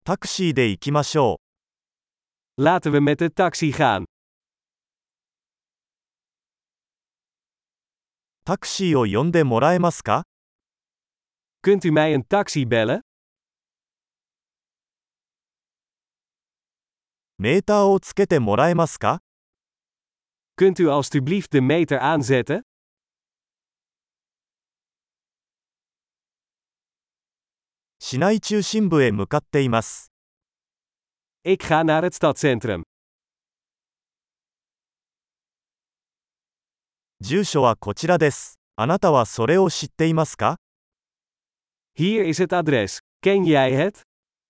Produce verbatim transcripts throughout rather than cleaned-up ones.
タクシーで行きましょう。 Laten we met de taxi gaan. タクシーを呼んでもらえますか？ Kunt u mij een taxi bellen? メーターをつけてもらえますか？ Kunt u alstublieft de meter aanzetten? 市内中心部へ向かっています。 Ik ga naar het stadscentrum. 住所はこちらです。あなたはそれを知っていますか？ Hier is het adres. Ken jij het?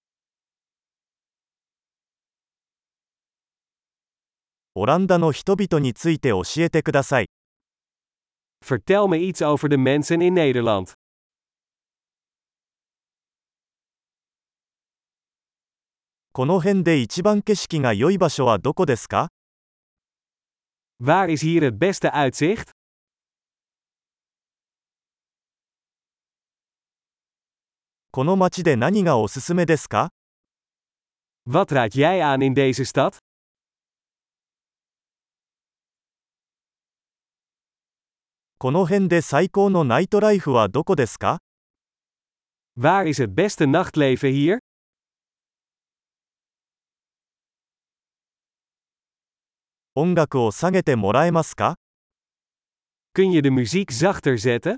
オランダの人々について教えてください。 Vertel me iets over de mensen in Nederland. この辺で一番景色が良い場所はどこですか？ Waar is hier het beste uitzicht? この街で何がおすすめですか？ Wat raad jij aan in deze stad? この辺で最高のナイトライフはどこですか？ Waar is het beste nachtleven hier? 音楽を下げてもらえますか？ Kun je de muziek zachter zetten?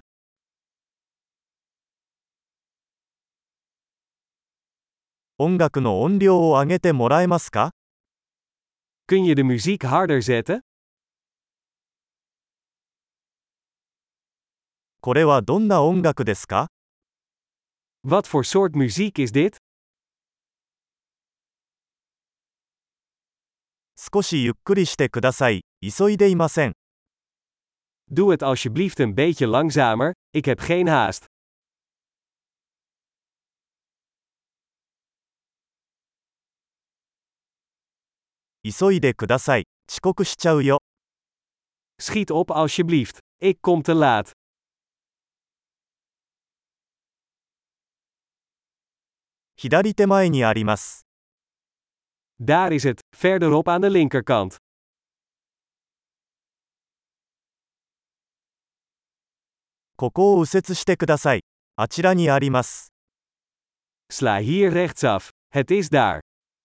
音楽の音量を上げてもらえますか？ Kun je de muziek harder zetten? これはどんな音楽ですか？ Wat voor soort muziek is dit? 少しゆっくりしてください。急いでいません。 Doe het alsjeblieft een beetje langzamer, ik heb geen haast. 急いでください。遅刻しちゃうよ。 Schiet op alsjeblieft. Ik kom te laat. 左手前にあります。 Daar is het, verderop aan de linkerkant. ここを右折してください。あちらにあります。 Sla hier rechtsaf. Het is daar.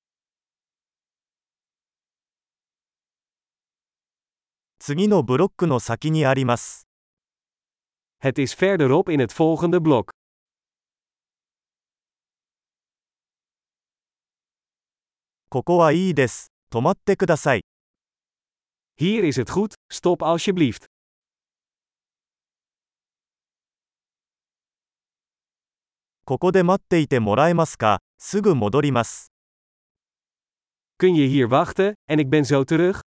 次のブロックの先にあります。 Het is verderop in het volgende blok. ここはいいです。止まってください。 Hier is het goed, stop alsjeblieft. ここで待っていてもらえますか？すぐ戻ります。 Kun je hier wachten, en ik ben zo terug?